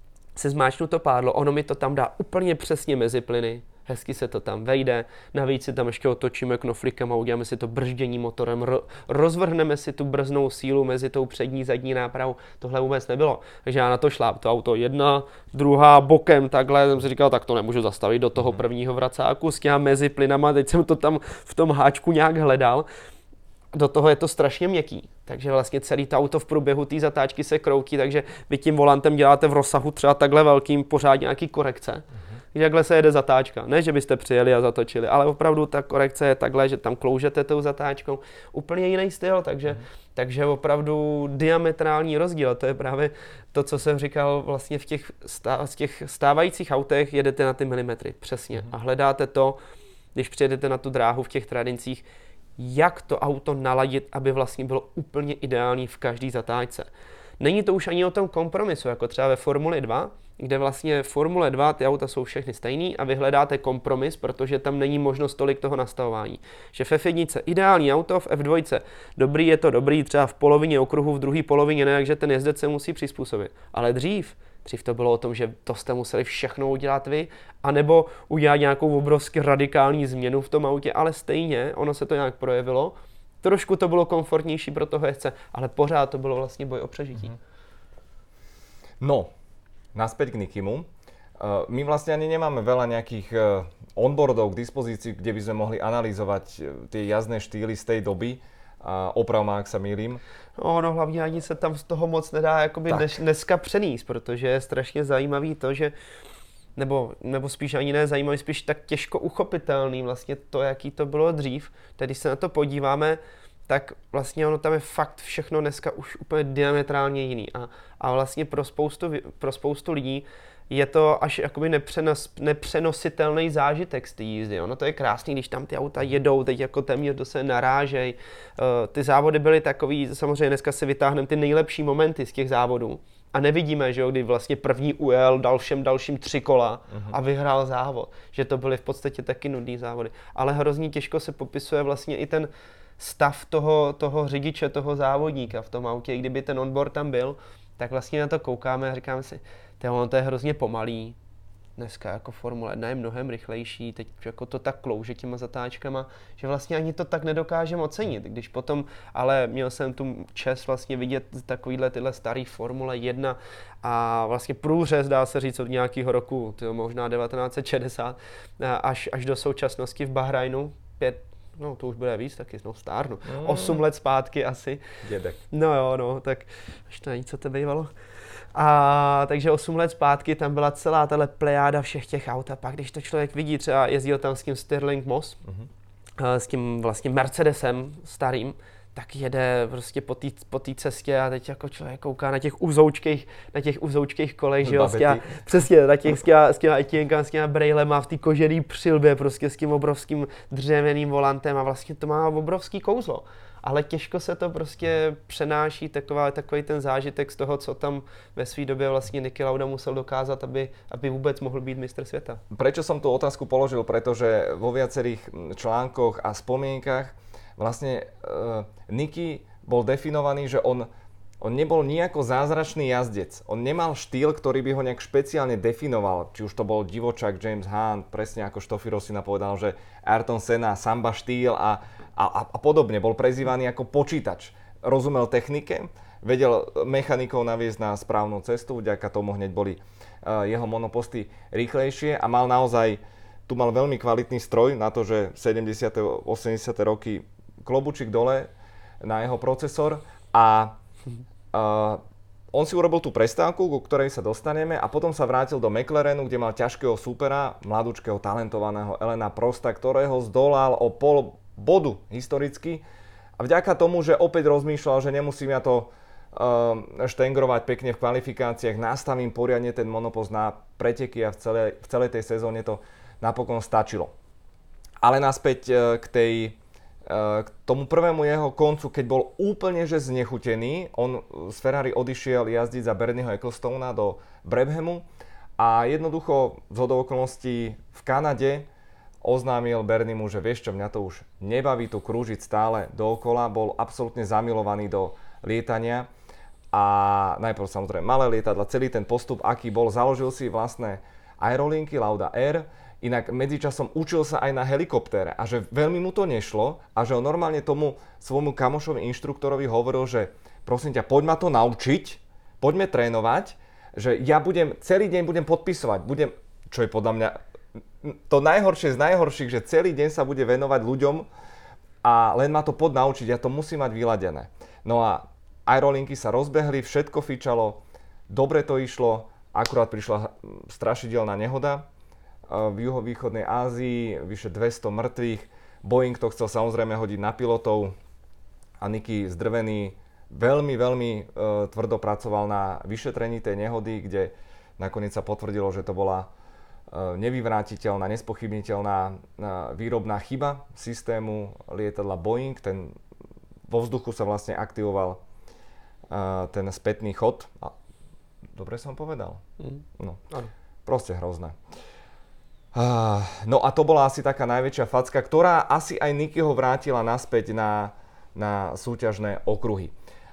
se zmáčknu to pádlo, ono mi to tam dá úplně přesně meziplyny, hezky se to tam vejde, navíc si tam ještě otočíme knoflíkem a uděláme si to brždění motorem, rozvrhneme si tu brznou sílu mezi tou přední, zadní nápravou, tohle vůbec nebylo. Takže já na to šláp, to auto jedna, druhá bokem, takhle, jsem si říkal, tak to nemůžu zastavit do toho prvního vracáku s těma mezi plynama, teď jsem to tam v tom háčku nějak hledal. Do toho je to strašně měkký, takže vlastně celý to auto v průběhu té zatáčky se kroutí, takže vy tím volantem děláte v rozsahu třeba takhle velkým pořád nějaký korekce. Takhle se jede zatáčka, ne, že byste přijeli a zatočili, ale opravdu ta korekce je takhle, že tam kloužete tou zatáčkou, úplně jiný styl, takže opravdu diametrální rozdíl, to je právě to, co jsem říkal vlastně v těch stávajících autech, jedete na ty milimetry, přesně, a hledáte to, když přijedete na tu dráhu v těch tradincích, jak to auto naladit, aby vlastně bylo úplně ideální v každé zatáčce. Není to už ani o tom kompromisu, jako třeba ve Formuli 2, kde vlastně Formule 2 ty auta jsou všechny stejný a vy hledáte kompromis, protože tam není možnost tolik toho nastavování. Že v F1 ideální auto, v F2 dobrý je to dobrý, třeba v polovině okruhu, v druhé polovině ne, takže ten jezdec se musí přizpůsobit. Ale dřív to bylo o tom, že to jste museli všechno udělat vy, anebo udělat nějakou obrovsky radikální změnu v tom autě, ale stejně ono se to nějak projevilo. Trošku to bylo komfortnější pro toho jezdce, ale pořád to bylo vlastně boj o přežití. No, naspäť k Nikimu. My vlastne ani nemáme veľa nejakých onboardov k dispozícii, kde by sme mohli analyzovať tie jazdné štýly z tej doby. Oprav ma, ak sa mýlim. No hlavně ani se tam z toho moc nedá jakoby dneska přenést, protože je strašně zajímavý to, že nebo spíš ani ne zajímavý, spíš tak těžko uchopitelný vlastně to, jaký to bylo dřív. Tedy když se na to podíváme, tak vlastně ono tam je fakt všechno dneska už úplně diametrálně jiný. A vlastně pro spoustu lidí je to až jakoby nepřenositelný zážitek z té jízdy. Ono to je krásný, když tam ty auta jedou, teď jako téměř do sebe narážej. Ty závody byly takový, samozřejmě dneska si vytáhneme ty nejlepší momenty z těch závodů. A nevidíme, že jo, kdy vlastně první ujel, dalším 3 kola a vyhrál závod. Že to byly v podstatě taky nudný závody. Ale hrozně těžko se popisuje vlastně i ten stav toho řidiče, toho závodníka v tom autě. I kdyby ten onboard tam byl, tak vlastně na to koukáme a říkáme si, to je hrozně pomalý. Dneska jako Formule 1 je mnohem rychlejší, teď jako to tak klouže těma zatáčkama, že vlastně ani to tak nedokážeme ocenit. Když potom, ale měl jsem tu čest vlastně vidět tyhle starý Formule 1 a vlastně průřez, dá se říct, od nějakého roku, možná 1960, až do současnosti v Bahrajnu, 5, no to už bude víc, taky stárnu, 8 let zpátky asi. Dědek. No jo, no, tak až to není, co to bývalo. A takže 8 let zpátky tam byla celá tahle plejáda všech těch aut a pak, když to člověk vidí, třeba jezdil tam s tím Stirling Moss, s tím vlastně Mercedesem starým, tak jede prostě po té cestě a teď jako člověk kouká na těch uzoučkých kolech, že jo, přesně, na těch s těma etěnkama, s těma brejlema v té kožený přilbě, prostě s tím obrovským dřevěným volantem a vlastně to má obrovský kouzlo. Ale těžko se to prostě přenáší takový ten zážitek z toho, co tam ve své době vlastně Niki Lauda musel dokázat, aby vůbec mohl být mistr světa. Prečo som tú otázku položil? Pretože vo viacerých článkoch a spomienkach vlastne Niki bol definovaný, že on nebol nejako zázračný jazdec. On nemal štýl, ktorý by ho nejak špeciálne definoval. Či už to bol divočák James Hunt, presne ako Stoffy Rossi povedal, že Ayrton Senna, samba štýl a podobne. Bol prezývaný ako počítač. Rozumel technike, vedel mechanikov naviesť na správnu cestu, vďaka tomu hneď boli jeho monoposty rýchlejšie a mal veľmi kvalitný stroj na to, že 70. 80. roky klobučík dole na jeho procesor a on si urobil tú prestávku, ku ktorej sa dostaneme a potom sa vrátil do McLarenu, kde mal ťažkého súpera, mladúčkeho talentovaného Elena Prosta, ktorého zdolal o pol bodu historicky a vďaka tomu, že opäť rozmýšľal, že nemusím ja to štengrovať pekne v kvalifikáciách, nastavím poriadne ten monopost na preteky a v celej tej sezóne to napokon stačilo. Ale naspäť k tomu prvému jeho koncu, keď bol úplne že znechutený, on z Ferrari odišiel jazdiť za Bernieho Ecclestona do Brabhamu a jednoducho zhodou okolností v Kanade oznámil Berniemu, že vieš čo, mňa to už nebaví tu krúžiť stále dookola, bol absolútne zamilovaný do lietania a najprv samozrejme malé lietadla, celý ten postup, aký bol, založil si vlastné aerolinky Lauda Air, inak medzičasom učil sa aj na helikoptére a že veľmi mu to nešlo a že on normálne tomu svojmu kamošovi inštruktorovi hovoril, že prosím ťa, poď ma to naučiť, poďme trénovať, že ja celý deň budem podpisovať, čo je podľa mňa to najhoršie z najhorších, že celý deň sa bude venovať ľuďom a len ma to naučiť, ja to musím mať vyladené. No a aerolinky sa rozbehli, všetko fičalo, dobre to išlo, akurát prišla strašidelná nehoda v juhovýchodnej Ázii, vyše 200 mŕtvych, Boeing to chcel samozrejme hodiť na pilotov a Niki zdrvený veľmi tvrdo pracoval na vyšetrení tej nehody, kde nakoniec sa potvrdilo, že to bola nevyvrátiteľná, nespochybniteľná výrobná chyba systému lietadla Boeing. Vo vzduchu sa vlastne aktivoval ten spätný chod. Dobre som povedal? No, proste hrozné. No a to bola asi taká najväčšia facka, ktorá asi aj Nikiho vrátila naspäť na súťažné okruhy.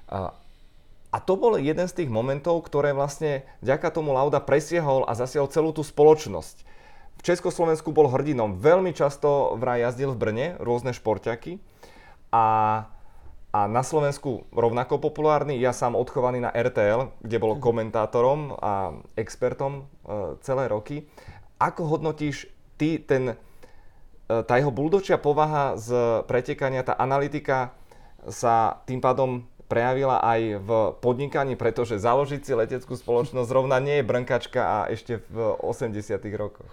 A to bol jeden z tých momentov, ktoré vlastne vďaka tomu Lauda presiahol a zasiahol celú tú spoločnosť. V Československu bol hrdinom. Veľmi často vraj jazdil v Brne rôzne šporťaky a na Slovensku rovnako populárny. Ja sám odchovaný na RTL, kde bol komentátorom a expertom celé roky. Ako hodnotíš ty tá jeho buldočia povaha z pretekania, tá analytika sa tým pádom prejavila aj v podnikaní, pretože založiť si leteckú spoločnosť zrovna nie je brnkačka a ešte v 80. rokoch.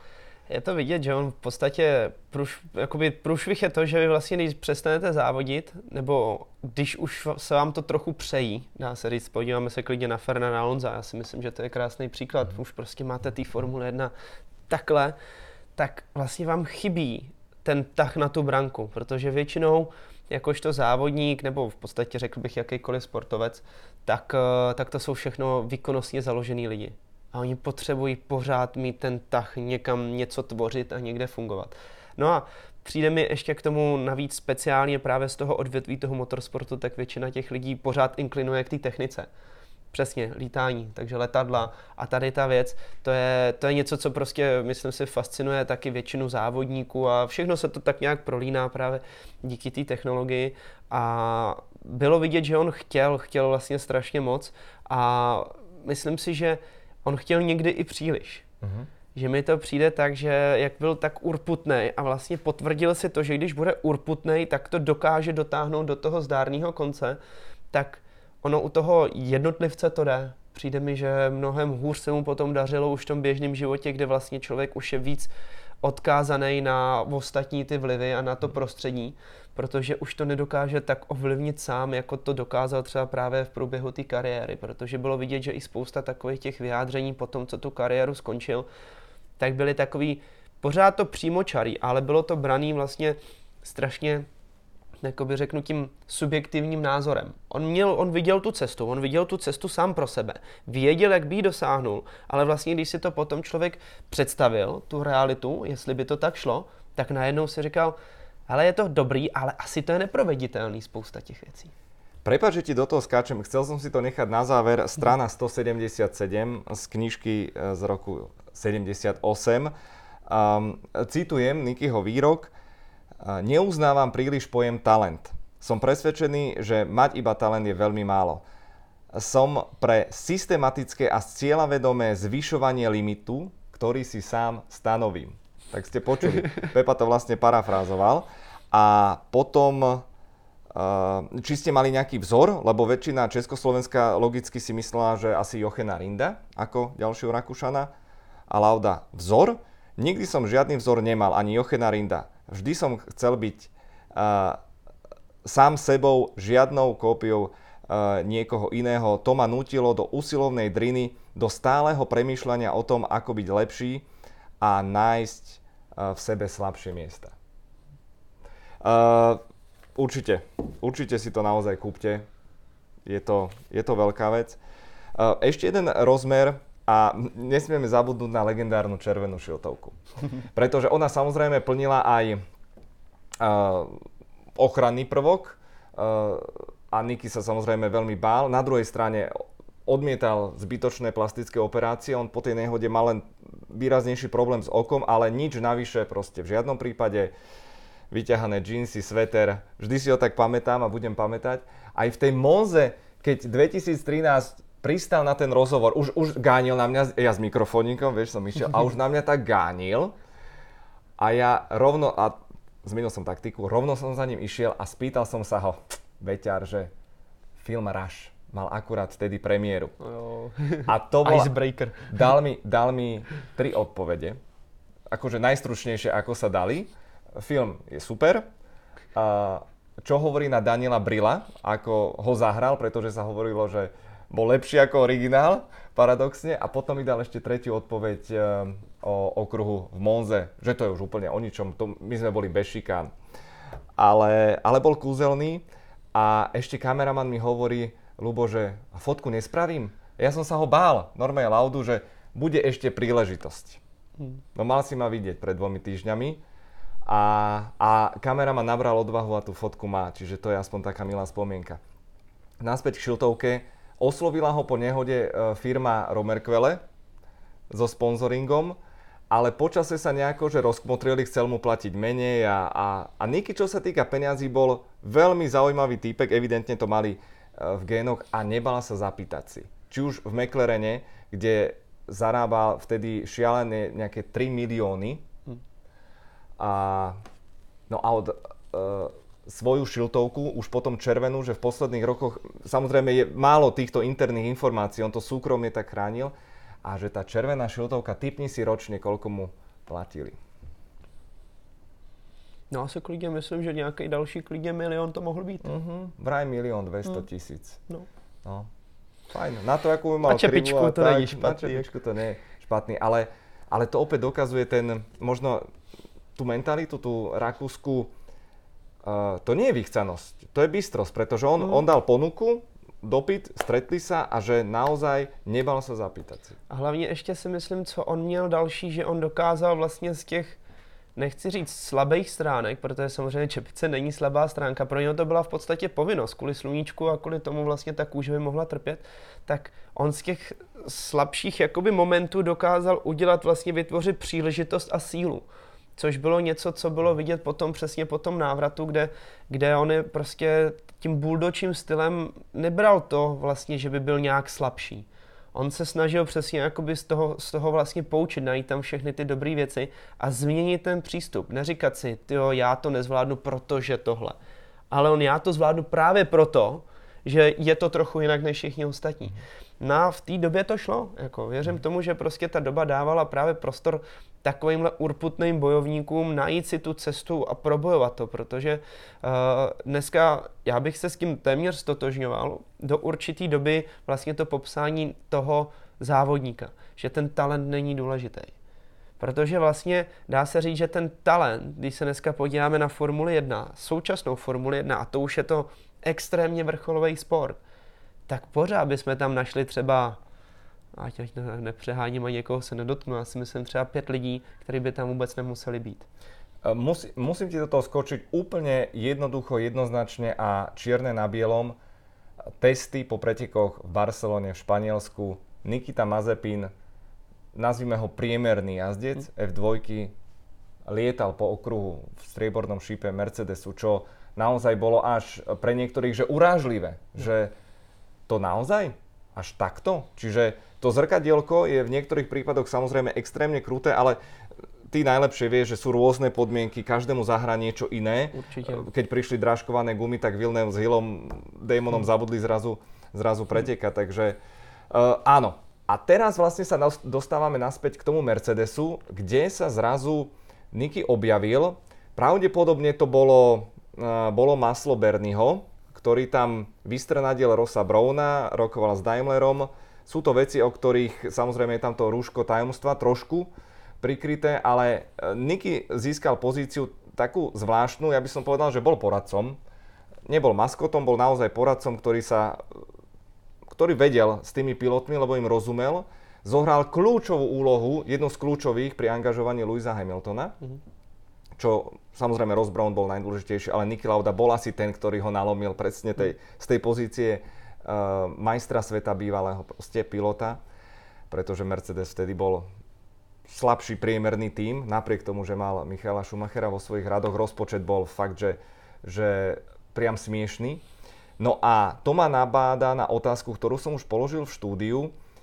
Je to vidět, že on v podstatě průšvih je to, že vy vlastně, když přestanete závodit, nebo když už se vám to trochu přejí, dá se říct, podíváme se klidně na Fernanda Alonsa, já si myslím, že to je krásný příklad, už prostě máte té Formule 1 takhle, tak vlastně vám chybí ten tah na tu branku, protože většinou jakožto závodník, nebo v podstatě řekl bych jakýkoliv sportovec, tak to jsou všechno výkonnostně založený lidi. A oni potřebují pořád mít ten tah někam něco tvořit a někde fungovat. No a přijde mi ještě k tomu navíc speciálně právě z toho odvětví toho motorsportu, tak většina těch lidí pořád inklinuje k té technice. Přesně, lítání, takže letadla a tady ta věc, to je něco, co prostě, myslím si, fascinuje taky většinu závodníků a všechno se to tak nějak prolíná právě díky té technologii a bylo vidět, že on chtěl vlastně strašně moc a myslím si, že on chtěl někdy i příliš. Že mi to přijde tak, že jak byl tak urputnej a vlastně potvrdil si to, že když bude urputnej, tak to dokáže dotáhnout do toho zdárného konce, tak ono u toho jednotlivce to jde. Přijde mi, že mnohem hůř se mu potom dařilo už v tom běžném životě, kde vlastně člověk už je víc odkázaný na ostatní ty vlivy a na to prostředí, protože už to nedokáže tak ovlivnit sám, jako to dokázal třeba právě v průběhu té kariéry, protože bylo vidět, že i spousta takových těch vyjádření po tom, co tu kariéru skončil, tak byly takový, pořád to přímočarý, ale bylo to braný vlastně strašně, jakoby řeknu tím subjektivním názorem. On viděl tu cestu sám pro sebe, věděl, jak by ji dosáhnul, ale vlastně, když si to potom člověk představil, tu realitu, jestli by to tak šlo, tak najednou si říkal, ale je to dobrý, ale asi to je neproveditelný spousta těch věcí. Prepáč, že ti do toho skáčem. Chcel som si to nechať na záver. Strana 177 z knižky z roku 78. Citujem Nikyho výrok. Neuznávam príliš pojem talent. Som presvedčený, že mať iba talent je veľmi málo. Som pre systematické a cieľavedomé zvyšovanie limitu, ktorý si sám stanovím. Tak ste počuli. Pepa to vlastne parafrázoval. A potom, či ste mali nejaký vzor, lebo väčšina Československa logicky si myslela, že asi Jochena Rinda ako ďalšieho Rakúšana a Lauda vzor. Nikdy som žiadny vzor nemal, ani Jochena Rinda. Vždy som chcel byť sám sebou, žiadnou kópiou niekoho iného. To ma nútilo do usilovnej driny, do stáleho premýšľania o tom, ako byť lepší a nájsť v sebe slabšie miesta. Určite si to naozaj kúpte. Je to veľká vec. Ešte jeden rozmer a nesmieme zabudnúť na legendárnu červenú šiltovku. Pretože ona samozrejme plnila aj ochranný prvok a Niky sa samozrejme veľmi bál. Na druhej strane odmietal zbytočné plastické operácie. On po tej nehode mal len výraznejší problém s okom, ale nič navyše proste v žiadnom prípade. Vyťahané džínsy, sveter, vždy si ho tak pamätám a budem pamätať. Aj v tej Monze, keď 2013 pristal na ten rozhovor, už gánil na mňa, ja s mikrofónikom, vieš, som išiel, a už na mňa tak gánil. A ja rovno, a zmenil som taktiku, rovno som za ním išiel a spýtal som sa ho, Beťar, že film Rush mal akurát vtedy premiéru. A to bol... Icebreaker. Dal mi 3 odpovede, akože najstručnejšie, ako sa dali. Film je super. Čo hovorí na Daniela Brilla, ako ho zahral, pretože sa hovorilo, že bol lepší ako originál, paradoxne. A potom mi dal ešte tretiu odpoveď o okruhu v Monze, že to je už úplne o ničom. My sme boli bez šikán. Ale bol kúzelný. A ešte kameraman mi hovorí, Ľubo, že fotku nespravím. Ja som sa ho bál, normálne Laudu, že bude ešte príležitosť. No mal si ma vidieť pred 2 týždňami. A kameraman nabral odvahu a tú fotku má, čiže to je aspoň taká milá spomienka. Naspäť k šiltovke. Oslovila ho po nehode firma Romerquelle so sponzoringom, ale počase sa nejako, že rozkmotrili, chcel mu platiť menej a Niky, čo sa týka peňazí, bol veľmi zaujímavý týpek, evidentne to mali v génoch a nebal sa zapýtať si. Či už v McLarene, kde zarábal vtedy šialené nejaké 3 milióny, a od svoju šiltovku, už potom červenú, že v posledných rokoch, samozrejme je málo týchto interných informácií, on to súkromne tak chránil, a že tá červená šiltovka, tipni si ročne, koľko mu platili? No asi klidně myslím, že nějaký další klidně 1 000 000 to mohl být. Vraj 1 200 000. No. No. Fajn. Na to, ako by mal na čepičku krivu, to není špatný. Na čepičku to nie je špatný, ale to opäť dokazuje možno tú mentalitu, tú rakúsku, to nie je vychcanosť, to je bystrosť, pretože on dal ponuku, dopyt, stretli sa a že naozaj nebal sa zapýtať si. A hlavně ještě si myslím, co on měl další, že on dokázal vlastně z těch, nechci říct slabých stránek, protože samozřejmě čepice není slabá stránka, pro něho to byla v podstatě povinnost, kvůli sluníčku a kvůli tomu vlastně ta kůže by mohla trpět, tak on z těch slabších jakoby momentů dokázal udělat, vlastně vytvořit příležitost a sílu. Což bylo něco, co bylo vidět potom přesně po tom návratu, kde on je prostě tím bulldočím stylem nebral to vlastně, že by byl nějak slabší. On se snažil přesně jakoby z toho vlastně poučit, najít tam všechny ty dobré věci a změnit ten přístup. Neříkat si, tyjo, já to nezvládnu, protože tohle. Ale já to zvládnu právě proto, že je to trochu jinak než všichni ostatní. No v té době to šlo. Jako, věřím tomu, že prostě ta doba dávala právě prostor takovýmhle urputným bojovníkům najít si tu cestu a probojovat to, protože dneska já bych se s tím téměř stotožňoval do určitý doby vlastně to popsání toho závodníka, že ten talent není důležitý. Protože vlastně dá se říct, že ten talent, když se dneska podíváme na Formuli 1, současnou Formuli 1, a to už je to extrémně vrcholový sport, tak pořád bychom tam našli třeba, ať nepřeháním a někoho se nedotknu, já si myslím třeba 5 lidí, kteří by tam vůbec nemuseli být. Musím ti do toho skočiť úplne jednoducho, jednoznačne a čierne na bielom. Testy po pretekoch v Barcelone, v Španielsku. Nikita Mazepin, nazvime ho priemerný jazdec F2, lietal po okruhu v striebornom šípe Mercedesu, čo naozaj bolo až pre niektorých že urážlivé, že to naozaj až takto? Čiže to zrkadielko je v niektorých prípadoch samozrejme extrémne kruté, ale ty najlepšie vieš, že sú rôzne podmienky, každému zahrá niečo iné. Určite. Keď prišli drážkované gumy, tak Villeneuve s Hillom, Damonom zabudli zrazu pretekať, takže áno. A teraz vlastne sa dostávame naspäť k tomu Mercedesu, kde sa zrazu Niki objavil. Pravdepodobne to bolo maslo Bernieho, ktorý tam vystrenadil Rossa Browna, rokoval s Daimlerom. Sú to veci, o ktorých samozrejme je tam to rúško tajomstva trošku prikryté, ale Niki získal pozíciu takú zvláštnu, ja by som povedal, že bol poradcom. Nebol maskotom, bol naozaj poradcom, ktorý vedel s tými pilotmi, lebo im rozumel. Zohral kľúčovú úlohu, jednu z kľúčových pri angažovaní Lewisa Hamiltona, čo samozrejme Ross Brown bol najdôležitejší, ale Niki Lauda bol asi ten, ktorý ho nalomil presne z tej pozície majstra sveta bývalého proste pilota, pretože Mercedes vtedy bol slabší priemerný tím, napriek tomu, že mal Michaela Schumachera vo svojich radoch. Rozpočet bol fakt, že priam smiešný. No a to ma nabáda na otázku, ktorú som už položil v štúdiu.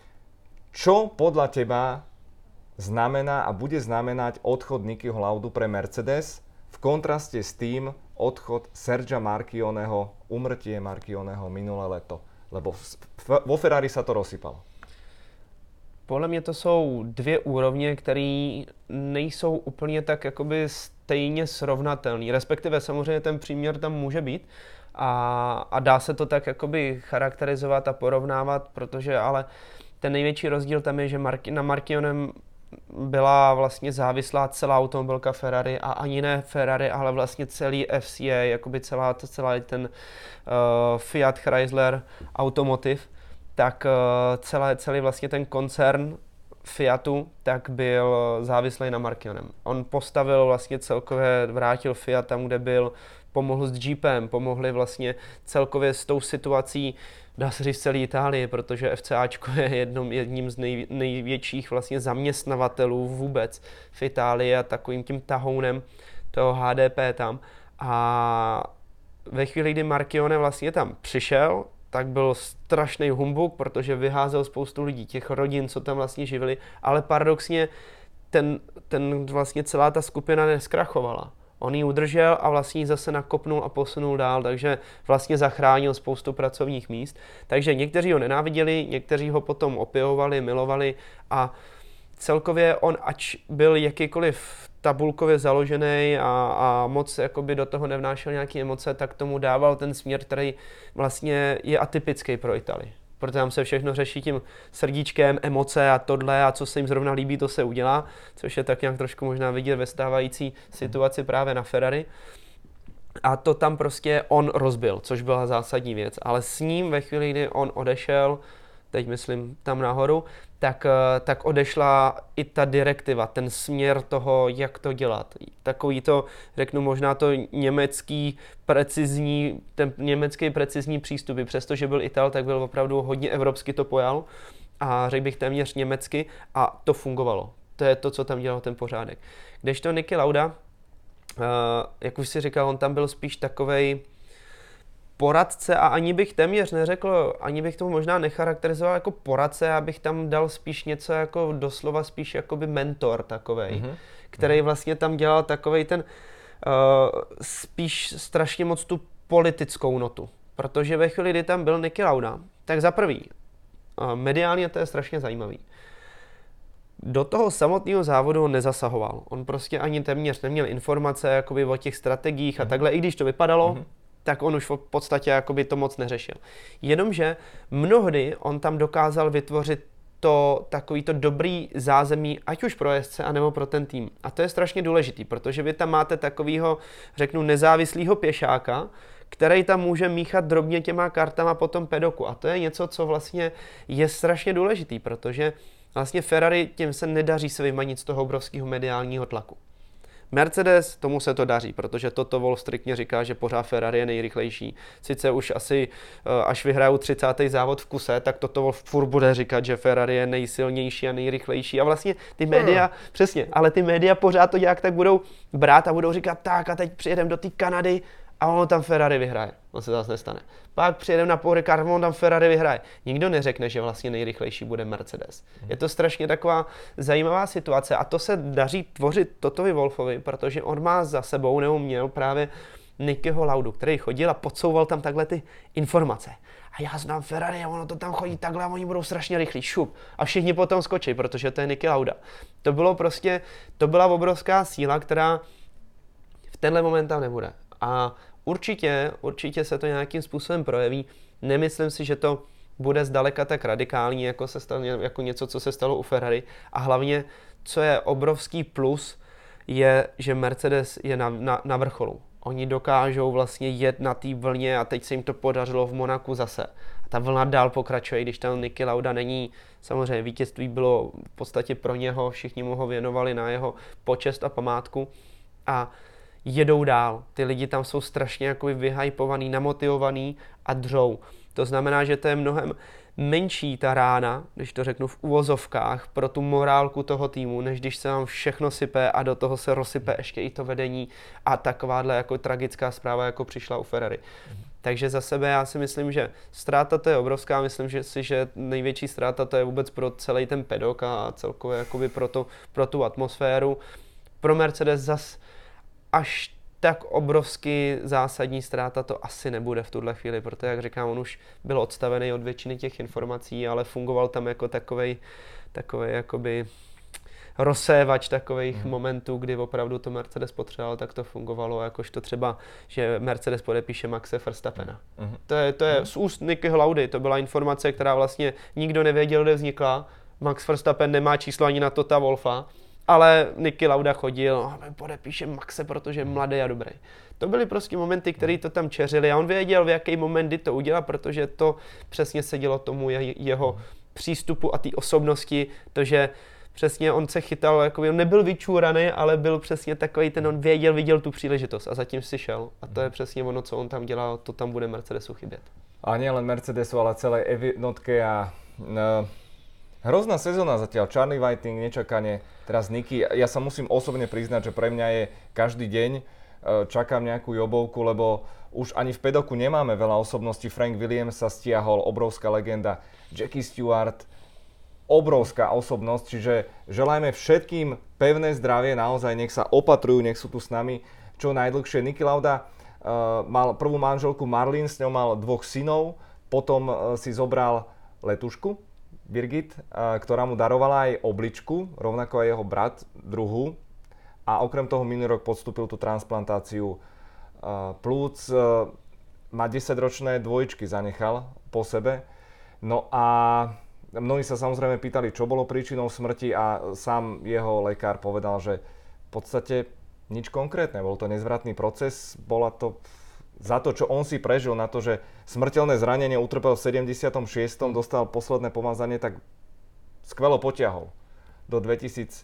Čo podľa teba znamená a bude znamenať odchod Nikiho Laudu pre Mercedes v kontraste s tým odchod Sergia Marchioneho, umrtie Marchioneho minulé leto? Lebo vo Ferrari sa to rozsypalo. Podle mě to jsou 2 úrovně, které nejsou úplně tak jakoby stejně srovnatelné. Respektive samozřejmě ten příměr tam může být a dá se to tak jakoby charakterizovat a porovnávat, protože ale ten největší rozdíl tam je, že na Marchionem byla vlastně závislá celá automobilka Ferrari a ani ne Ferrari, ale vlastně celý FCA, jakoby celý ten Fiat Chrysler Automotive, tak celý vlastně ten koncern Fiatu tak byl závislý na Marchionem. On postavil vlastně celkově, vrátil Fiat tam, kde byl, pomohl s Jeepem, pomohli vlastně celkově s tou situací, dá se říct celé Itálii, protože FCAčko je jedním z největších vlastně zaměstnavatelů vůbec v Itálii a takovým tím tahounem toho HDP tam. A ve chvíli, kdy Marchione vlastně tam přišel, tak byl strašný humbuk, protože vyházel spoustu lidí, těch rodin, co tam vlastně živili, ale paradoxně ten vlastně celá ta skupina neskrachovala. On ji udržel a vlastně ji zase nakopnul a posunul dál, takže vlastně zachránil spoustu pracovních míst. Takže někteří ho nenáviděli, někteří ho potom opěvovali, milovali a celkově on, ač byl jakýkoliv tabulkově založený a moc jakoby do toho nevnášel nějaké emoce, tak tomu dával ten směr, který vlastně je atypický pro Itálii. Protože tam se všechno řeší tím srdíčkem, emoce a tohle a co se jim zrovna líbí, to se udělá, což je tak nějak trošku možná vidět ve stávající situaci právě na Ferrari. A to tam prostě on rozbil, což byla zásadní věc. Ale s ním ve chvíli, kdy on odešel, teď myslím tam nahoru, tak odešla i ta direktiva, ten směr toho, jak to dělat. Takový to, řeknu možná to ten německý precizní přístup, přestože byl Ital, tak byl opravdu hodně evropsky to pojal a řekl bych téměř německy a to fungovalo. To je to, co tam dělal ten pořádek. Kdežto Niki Lauda, jak už si říkal, on tam byl spíš takovej poradce a ani bych téměř neřekl, ani bych to možná necharakterizoval jako poradce, abych tam dal spíš něco jako doslova spíš jakoby mentor takovej, který vlastně tam dělal takovej ten spíš strašně moc tu politickou notu. Protože ve chvíli, kdy tam byl Niki Lauda, tak za prvý, mediálně to je strašně zajímavý. Do toho samotného závodu on nezasahoval. On prostě ani téměř neměl informace jakoby o těch strategiích a takhle, i když to vypadalo, tak on už v podstatě jakoby to moc neřešil. Jenomže mnohdy on tam dokázal vytvořit takovýto dobrý zázemí, ať už pro jezdce, anebo pro ten tým. A to je strašně důležitý, protože vy tam máte takovýho, řeknu, nezávislého pěšáka, který tam může míchat drobně těma kartama po tom pedoku. A to je něco, co vlastně je strašně důležitý, protože vlastně Ferrari tím se nedaří se vymanit z toho obrovského mediálního tlaku. Mercedes, tomu se to daří, protože Toto Wolff striktně říká, že pořád Ferrari je nejrychlejší. Sice už asi, až vyhrajou 30. závod v kuse, tak Toto Wolff furt bude říkat, že Ferrari je nejsilnější a nejrychlejší. A vlastně ty média, přesně, ale ty média pořád to nějak tak budou brát a budou říkat, tak a teď přijedeme do té Kanady a ono tam Ferrari vyhraje. On se zase nestane. Pak přijedeme na Paul Ricard, on tam Ferrari vyhraje. Nikdo neřekne, že vlastně nejrychlejší bude Mercedes. Je to strašně taková zajímavá situace a to se daří tvořit Totovi Wolffovi, protože on má za sebou, nebo měl právě Nikiho Laudu, který chodil a podsouval tam takhle ty informace. A já znám Ferrari a ono to tam chodí takhle a oni budou strašně rychlí, šup. A všichni potom skočí, protože to je Niki Lauda. To byla obrovská síla, která v tenhle moment tam nebude. A určitě se to nějakým způsobem projeví. Nemyslím si, že to bude zdaleka tak radikální, jako něco, co se stalo u Ferrari. A hlavně, co je obrovský plus, je, že Mercedes je na vrcholu. Oni dokážou vlastně jet na té vlně a teď se jim to podařilo v Monaku zase. A ta vlna dál pokračuje, když tam Niki Lauda není. Samozřejmě vítězství bylo v podstatě pro něho, všichni mu ho věnovali na jeho počest a památku. A jedou dál. Ty lidi tam jsou strašně jako vyhypovaný, namotivovaný a dřou. To znamená, že to je mnohem menší ta rána, když to řeknu v uvozovkách, pro tu morálku toho týmu, než když se vám všechno sype a do toho se rozsype ještě i to vedení a takováhle jako tragická zpráva, jako přišla u Ferrari. Takže za sebe já si myslím, že ztráta to je obrovská, myslím že největší ztráta to je vůbec pro celý ten pedok a celkově jakoby pro tu atmosféru. Pro Mercedes zas až tak obrovsky zásadní ztráta to asi nebude v tuhle chvíli, protože, jak říkám, on už byl odstavený od většiny těch informací, ale fungoval tam jako takovej jakoby rozsévač takových momentů, kdy opravdu to Mercedes potřeboval, tak to fungovalo, jakožto třeba, že Mercedes podepíše Maxe Verstappena. To je z úst Nikiho Laudy, to byla informace, která vlastně nikdo nevěděl, kde vznikla. Max Verstappen nemá číslo ani na Tota Wolffa, ale Niki Lauda chodil, podepíše Maxe, protože je mladý a dobrý. To byly prostě momenty, které to tam čeřili a on věděl, v jaký moment kdy to udělal, protože to přesně sedělo tomu jeho přístupu a té osobnosti, to, že přesně on se chytal, jako on nebyl vyčúraný, ale byl přesně takový, on viděl tu příležitost a zatím si šel. A to je přesně ono, co on tam dělal, to tam bude Mercedesu chybět. A nielen Mercedesu, ale celej jednotke a hrozná sezóna zatiaľ, Charlie Whiting, nečakane, teraz Niki. Ja sa musím osobne priznať, že pre mňa je každý deň, čakám nejakú jobovku, lebo už ani v pedoku nemáme veľa osobností. Frank Williams sa stiahol, obrovská legenda, Jackie Stewart, obrovská osobnosť, čiže želajme všetkým pevné zdravie, naozaj nech sa opatrujú, nech sú tu s nami čo najdlhšie. Niki Lauda mal prvú manželku Marlene, s ňou mal 2 synov, potom si zobral letušku, Birgit, ktorá mu darovala aj obličku, rovnako aj jeho brat, druhú. A okrem toho minulý rok podstúpil tú transplantáciu plúc. Má 10-ročné dvojičky zanechal po sebe. No a mnohí sa samozrejme pýtali, čo bolo príčinou smrti a sám jeho lekár povedal, že v podstate nič konkrétne. Bol to nezvratný proces, bola to za to, čo on si prežil, na to, že smrteľné zranenie utrpel v 76. dostal posledné pomazanie, tak skvelo potiahol do 2019.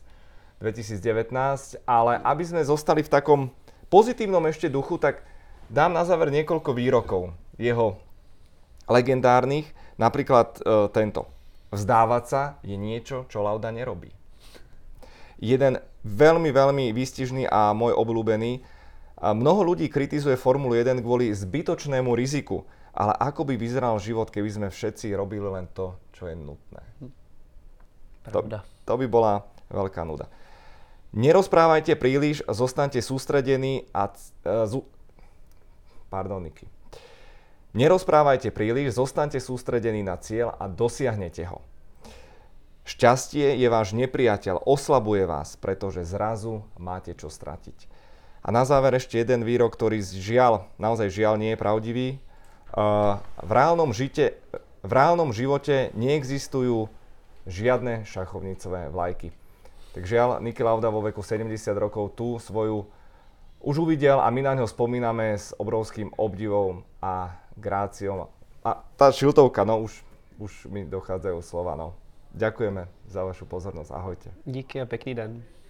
Ale aby sme zostali v takom pozitívnom ešte duchu, tak dám na záver niekoľko výrokov jeho legendárnych, napríklad tento. Vzdávať sa je niečo, čo Lauda nerobí. Jeden veľmi, veľmi výstižný a môj obľúbený. Mnoho ľudí kritizuje Formulu 1 kvôli zbytočnému riziku, ale ako by vyzeral život, keby sme všetci robili len to, čo je nutné. To by bola veľká nuda. Nerozprávajte príliš, zostaňte sústredení a... Niky. Nerozprávajte príliš, zostaňte sústredení na cieľ a dosiahnete ho. Šťastie je váš nepriateľ, oslabuje vás, pretože zrazu máte čo stratiť. A na záver ešte jeden výrok, ktorý naozaj žiaľ nie je pravdivý. V reálnom živote neexistujú žiadne šachovnicové vlajky. Tak žiaľ, Niki Lauda vo veku 70 rokov tú svoju už uvidel a my na ňo spomíname s obrovským obdivom a gráciou. A tá šiltovka, už mi dochádzajú slova. Ďakujeme za vašu pozornosť. Ahojte. Díky a pekný den.